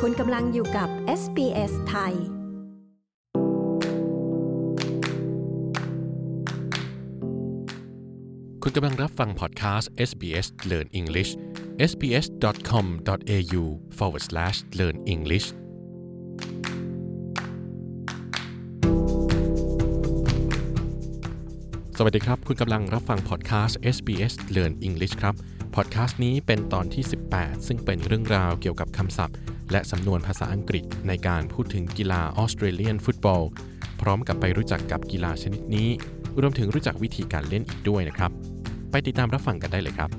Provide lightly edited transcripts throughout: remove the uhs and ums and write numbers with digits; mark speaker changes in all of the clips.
Speaker 1: คุณกำลังอยู่กับ SBS ไทย
Speaker 2: คุณกำลังรับฟังพอดคาสต์ SBS Learn English sbs.com.au/learn Englishสวัสดีครับคุณกำลังรับฟังพอดคาสต์ SBS Learn English ครับพอดคาสต์นี้เป็นตอนที่18ซึ่งเป็นเรื่องราวเกี่ยวกับคำศัพท์และสำนวนภาษาอังกฤษในการพูดถึงกีฬาออสเตรเลียนฟุตบอลพร้อมกับไปรู้จักกับกีฬาชนิดนี้รวมถึงรู้จักวิธีการเล่นอีกด้วยนะครับไปติดตามรับฟังกันได้เลยครับ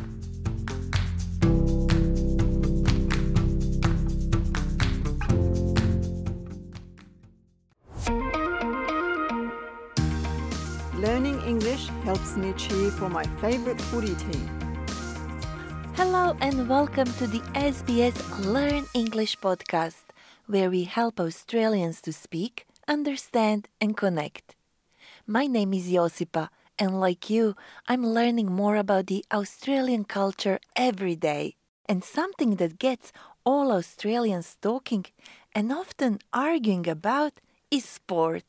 Speaker 3: Learning English helps me cheer for my favorite footy team.
Speaker 4: Hello and welcome to the SBS Learn English podcast, where we help Australians to speak, understand and connect. My name is Josipa, and like you, I'm learning more about the Australian culture every day. And something that gets all Australians talking and often arguing about is sport.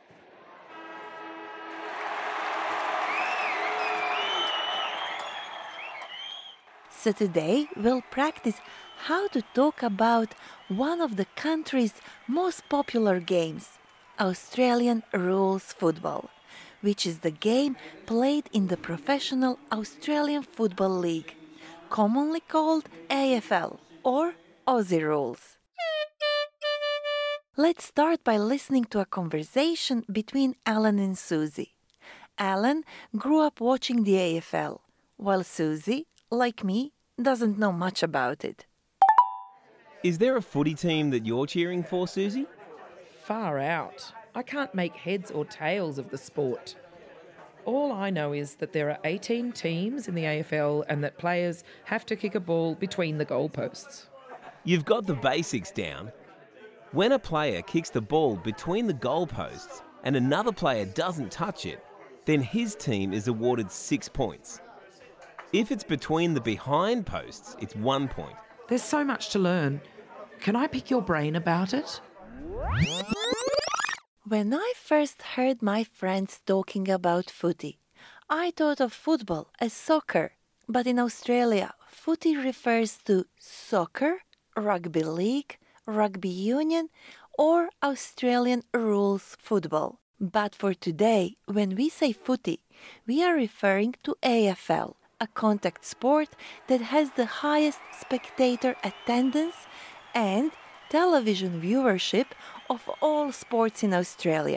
Speaker 4: So today we'll practice how to talk about one of the country's most popular games, Australian rules football, which is the game played in the professional Australian Football League, commonly called AFL or Aussie Rules. Let's start by listening to a conversation between Alan and Susie. Alan grew up watching the AFL, while Susie, like me, doesn't know much about it.
Speaker 5: Is there a footy team that you're cheering for, Susie?
Speaker 6: Far out. I can't make heads or tails of the sport. All I know is that there are 18 teams in the AFL and that players have to kick a ball between the goalposts.
Speaker 5: You've got the basics down. When a player kicks the ball between the goalposts and another player doesn't touch it, then his team is awarded 6 points. If it's between the behind posts, it's 1 point.
Speaker 6: There's so much to learn. Can I pick your brain about it?
Speaker 4: When I first heard my friends talking about footy, I thought of football as soccer, but in Australia, footy refers to soccer, rugby league, rugby union, or Australian rules football. But for today, when we say footy, we are referring to AFL, a contact sport that has the highest spectator attendance and television viewership of all sports in Australia.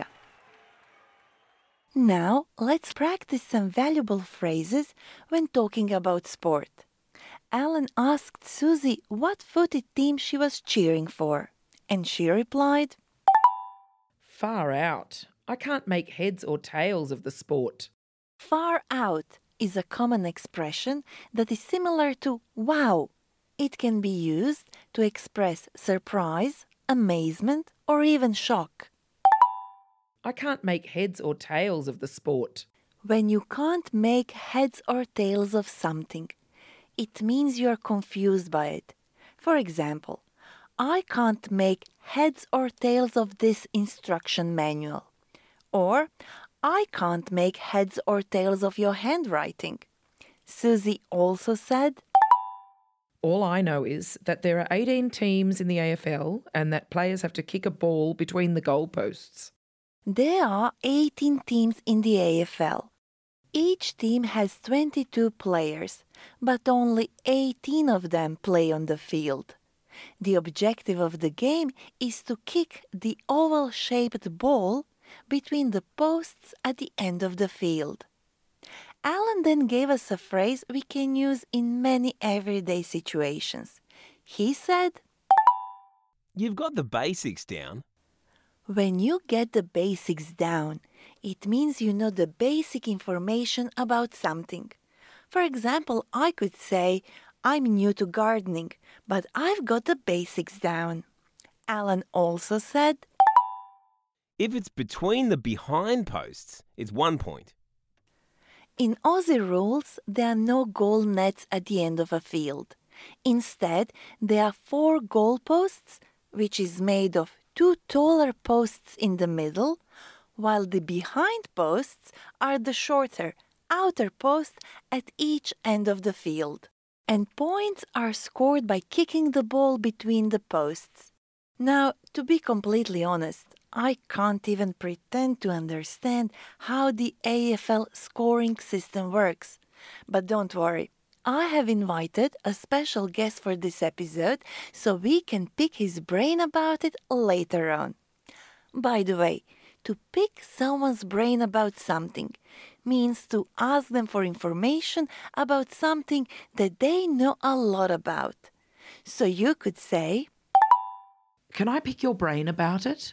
Speaker 4: Now, let's practice some valuable phrases when talking about sport. Alan asked Susie what footy team she was cheering for, and she replied,
Speaker 6: Far out. I can't make heads or tails of the sport.
Speaker 4: Far out is a common expression that is similar to wow. It can be used to express surprise, amazement, or even shock.
Speaker 6: I can't make heads or tails of the sport.
Speaker 4: When you can't make heads or tails of something, it means you're confused by it. For example, I can't make heads or tails of this instruction manual. Or, I can't make heads or tails of your handwriting. Susie also said,
Speaker 6: All I know is that there are 18 teams in the AFL and that players have to kick a ball between the goalposts.
Speaker 4: There are 18 teams in the AFL. Each team has 22 players, but only 18 of them play on the field. The objective of the game is to kick the oval-shaped ball between the posts at the end of the field. Alan then gave us a phrase we can use in many everyday situations. He said,
Speaker 5: You've got the basics down.
Speaker 4: When you get the basics down, it means you know the basic information about something. For example, I could say, I'm new to gardening, but I've got the basics down. Alan also said,
Speaker 5: If it's between the behind posts, it's 1 point.
Speaker 4: In Aussie rules, there are no goal nets at the end of a field. Instead, there are 4 goalposts, which is made of 2 taller posts in the middle, while the behind posts are the shorter outer posts at each end of the field. And points are scored by kicking the ball between the posts. Now, to be completely honest, I can't even pretend to understand how the AFL scoring system works. But don't worry, I have invited a special guest for this episode so we can pick his brain about it later on. By the way, to pick someone's brain about something means to ask them for information about something that they know a lot about. So you could say,
Speaker 6: Can I pick your brain about it?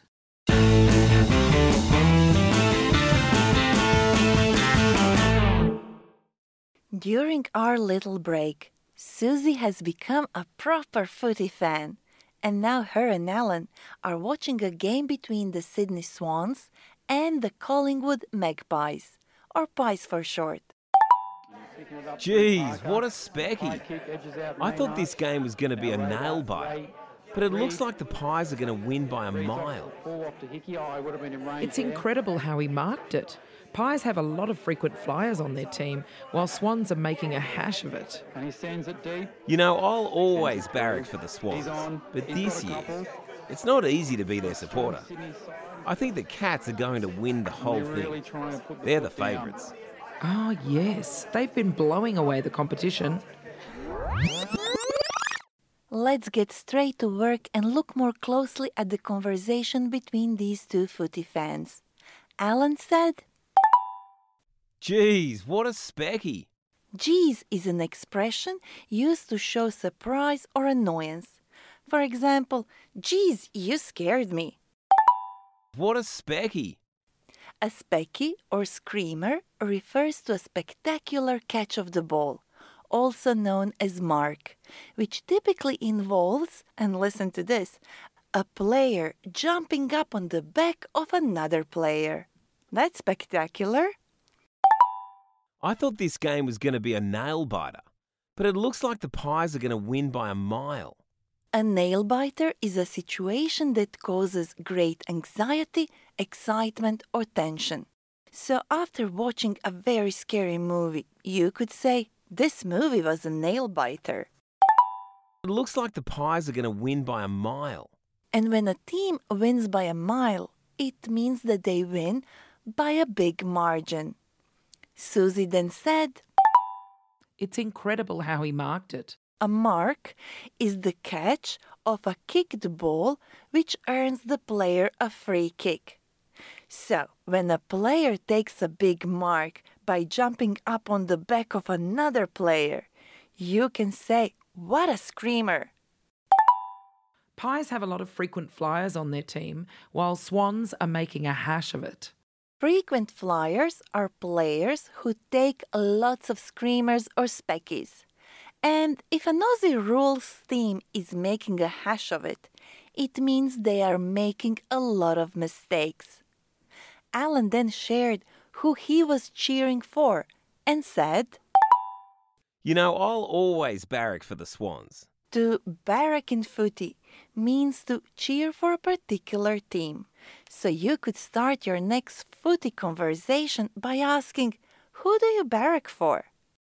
Speaker 4: during our little break, Susie has become a proper footy fan. And now her and Alan are watching a game between the Sydney Swans and the Collingwood Magpies, or Pies for short.
Speaker 5: Geez, what a specky. I thought this game was going to be a nail-biter, but it looks like the Pies are going to win by a mile.
Speaker 6: It's incredible how he marked it. Pies have a lot of frequent flyers on their team, while Swans are making a hash of it.
Speaker 7: And he sends it deep.
Speaker 5: You know, I'll always barrack for the Swans, but this year, it's not easy to be their supporter. I think the Cats are going to win the whole thing. They're the favourites.
Speaker 6: Oh, yes. They've been blowing away the competition.
Speaker 4: Let's get straight to work and look more closely at the conversation between these two footy fans. Alan said,
Speaker 5: Geez, what a specky.
Speaker 4: "Geez" is an expression used to show surprise or annoyance. For example, "Geez, you scared me."
Speaker 5: What a specky.
Speaker 4: A specky or screamer refers to a spectacular catch of the ball, also known as mark, which typically involves, and listen to this, a player jumping up on the back of another player. That's spectacular.
Speaker 5: I thought this game was going to be a nail-biter, but it looks like the Pies are going to win by a mile.
Speaker 4: A nail-biter is a situation that causes great anxiety, excitement, or tension. So after watching a very scary movie, you could say, "This movie was a nail-biter."
Speaker 5: It looks like the Pies are going to win by a mile.
Speaker 4: And when a team wins by a mile, it means that they win by a big margin. Susie then said,
Speaker 6: It's incredible how he marked it.
Speaker 4: "A mark is the catch of a kicked ball which earns the player a free kick. So, when a player takes a big mark by jumping up on the back of another player, you can say, 'What a screamer!'"
Speaker 6: Pies have a lot of frequent flyers on their team, while Swans are making a hash of it.
Speaker 4: Frequent flyers are players who take lots of screamers or speckies. And if an Aussie rules team is making a hash of it, it means they are making a lot of mistakes. Alan then shared who he was cheering for and said,
Speaker 5: You know, I'll always barrack for the Swans.
Speaker 4: "To barrack in footy means to cheer for a particular team. So you could start your next footy conversation by asking, 'Who do you barrack for?'"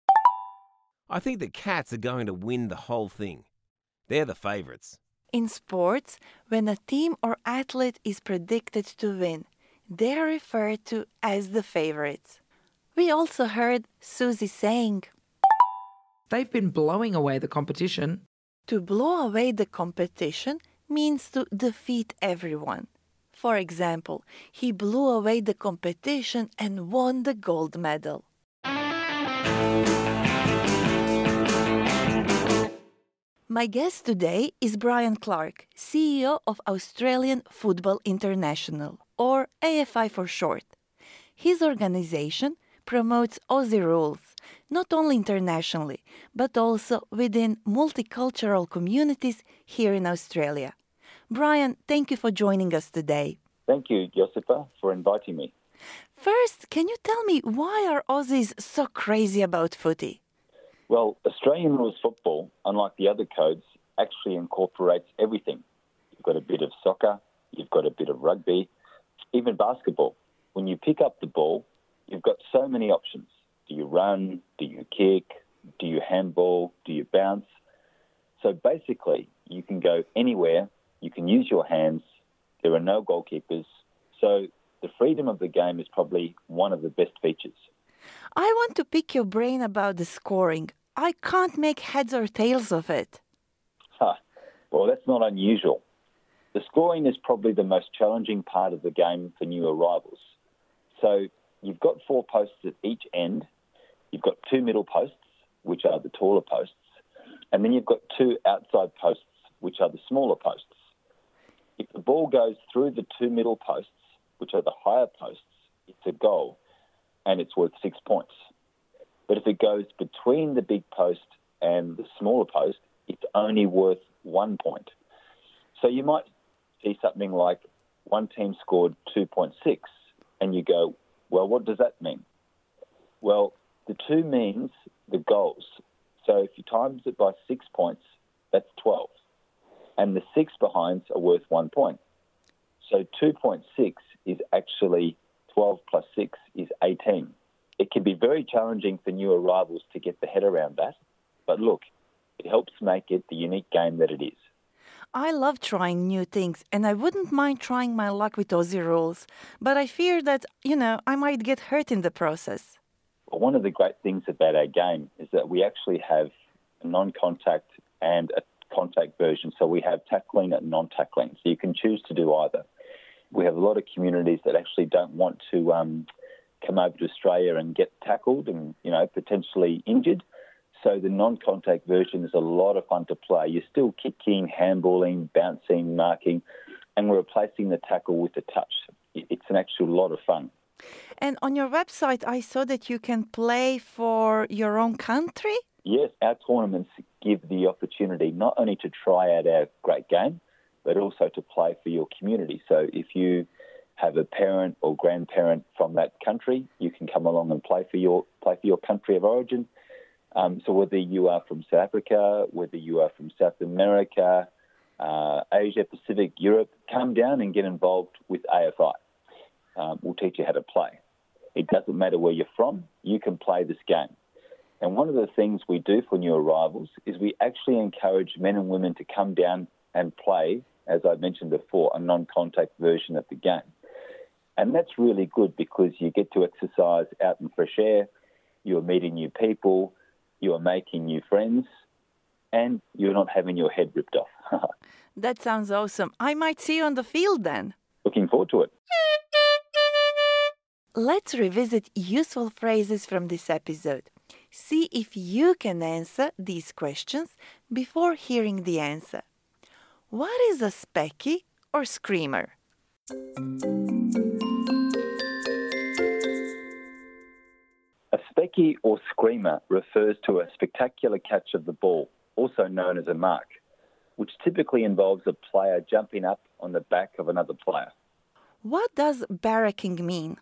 Speaker 5: I think the Cats are going to win the whole thing. They're the favourites.
Speaker 4: In sports, when a team or athlete is predicted to win, they are referred to as the favorites. We also heard Susie saying,
Speaker 6: They've been blowing away the competition.
Speaker 4: "To blow away the competition means to defeat everyone." For example, he blew away the competition and won the gold medal. My guest today is Brian Clark, CEO of Australian Football International, or AFI for short. His organization promotes Aussie rules, not only internationally, but also within multicultural communities here in Australia. Brian, thank you for joining us today.
Speaker 8: Thank you, Josipa, for inviting me.
Speaker 4: First, can you tell me why are Aussies so crazy about footy?
Speaker 8: Well, Australian rules football, unlike the other codes, actually incorporates everything. You've got a bit of soccer, you've got a bit of rugby, even basketball. When you pick up the ball, you've got so many options. Do you run? Do you kick? Do you handball? Do you bounce? So basically, you can go anywhere. You can use your hands. There are no goalkeepers. So the freedom of the game is probably one of the best features.
Speaker 4: I want to pick your brain about the scoring. I can't make heads or tails of it.
Speaker 8: Well, that's not unusual. The scoring is probably the most challenging part of the game for new arrivals. So you've got 4 posts at each end. You've got 2 middle posts, which are the taller posts. And then you've got 2 outside posts, which are the smaller posts. If the ball goes through the 2 middle posts, which are the higher posts, it's a goal, and it's worth 6 points. But if it goes between the big post and the smaller post, it's only worth 1 point. So you might see something like one team scored 2.6, and you go, well, what does that mean? Well, the 2 means the goals. So if you times it by 6 points, that's 12. And the 6 behinds are worth 1 point. So 2.6 is actually 12 plus 6 is 18. It can be very challenging for new arrivals to get the head around that. But look, it helps make it the unique game that it is.
Speaker 4: I love trying new things, and I wouldn't mind trying my luck with Aussie rules. But I fear that, I might get hurt in the process.
Speaker 8: Well, one of the great things about our game is that we actually have a non-contact and a contact version. So we have tackling and non-tackling. So you can choose to do either. We have a lot of communities that actually don't want to come over to Australia and get tackled and, potentially injured. So the non-contact version is a lot of fun to play. You're still kicking, handballing, bouncing, marking, and we're replacing the tackle with the touch. It's an actual lot of fun.
Speaker 4: And on your website, I saw that you can play for your own country?
Speaker 8: Yes, our tournaments give the opportunity not only to try out our great game, but also to play for your community. So if you have a parent or grandparent from that country, you can come along and play for your country of origin. So whether you are from South Africa, whether you are from South America, Asia, Pacific, Europe, come down and get involved with AFI. We'll teach you how to play. It doesn't matter where you're from, you can play this game. And one of the things we do for new arrivals is we actually encourage men and women to come down and play, as I mentioned before, a non-contact version of the game. And that's really good because you get to exercise out in fresh air, you're meeting new people, you are making new friends, and you're not having your head ripped off.
Speaker 4: That sounds awesome. I might see you on the field then.
Speaker 8: Looking forward to it.
Speaker 4: Let's revisit useful phrases from this episode. See if you can answer these questions before hearing the answer. What is a specky or screamer?
Speaker 8: A specky or screamer refers to a spectacular catch of the ball, also known as a mark, which typically involves a player jumping up on the back of another player.
Speaker 4: What does barracking mean?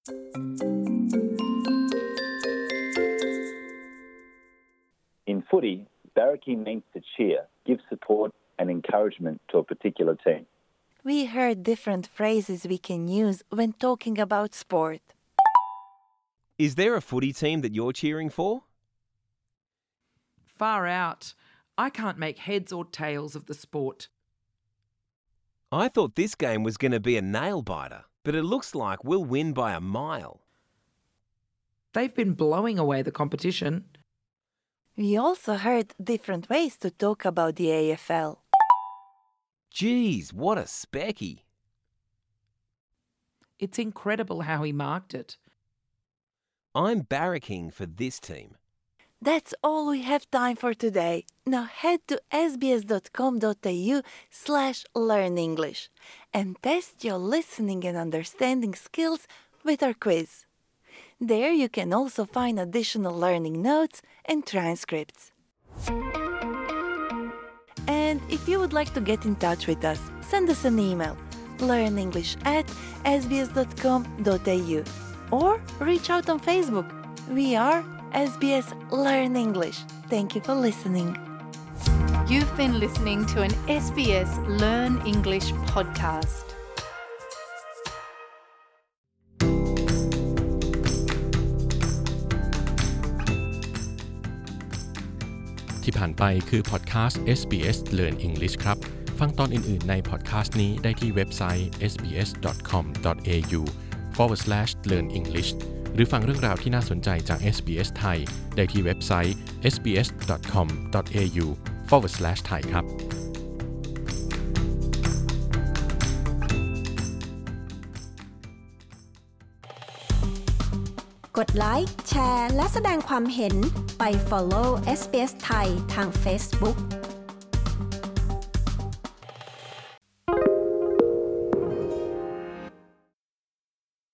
Speaker 8: In footy, barracking means to cheer, give support and encouragement to a particular team.
Speaker 4: We heard different phrases we can use when talking about sport.
Speaker 5: Is there a footy team that you're cheering for?
Speaker 6: Far out. I can't make heads or tails of the sport.
Speaker 5: I thought this game was going to be a nail-biter, but it looks like we'll win by a mile.
Speaker 6: They've been blowing away the competition.
Speaker 4: We also heard different ways to talk about the AFL.
Speaker 5: Geez, what a specky.
Speaker 6: It's incredible how he marked it.
Speaker 5: I'm barracking for this team.
Speaker 4: That's all we have time for today. Now head to sbs.com.au/learnenglish and test your listening and understanding skills with our quiz. There you can also find additional learning notes and transcripts. And if you would like to get in touch with us, send us an email, learnenglish@sbs.com.au, or reach out on Facebook. We are SBS Learn English. Thank you for listening.
Speaker 7: You've been listening to an SBS Learn English podcast.
Speaker 2: ที่ผ่านไปคือพอดแคสต์ SBS Learn English ครับฟังตอนอื่นๆในพอดแคสต์นี้ได้ที่เว็บไซต์ sbs.com.au/learnenglish หรือฟังเรื่องราวที่น่าสนใจจาก SBS ไทยได้ที่เว็บไซต์ sbs.com.au/thai ครับ
Speaker 1: กดไลค์แชร์และแสดงความเห็นไป follow SBS ไทยทาง Facebook